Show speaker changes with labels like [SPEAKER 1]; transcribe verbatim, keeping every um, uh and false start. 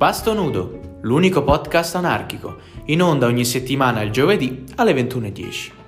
[SPEAKER 1] Pasto Nudo, l'unico podcast anarchico, in onda ogni settimana il giovedì alle ventuno e dieci.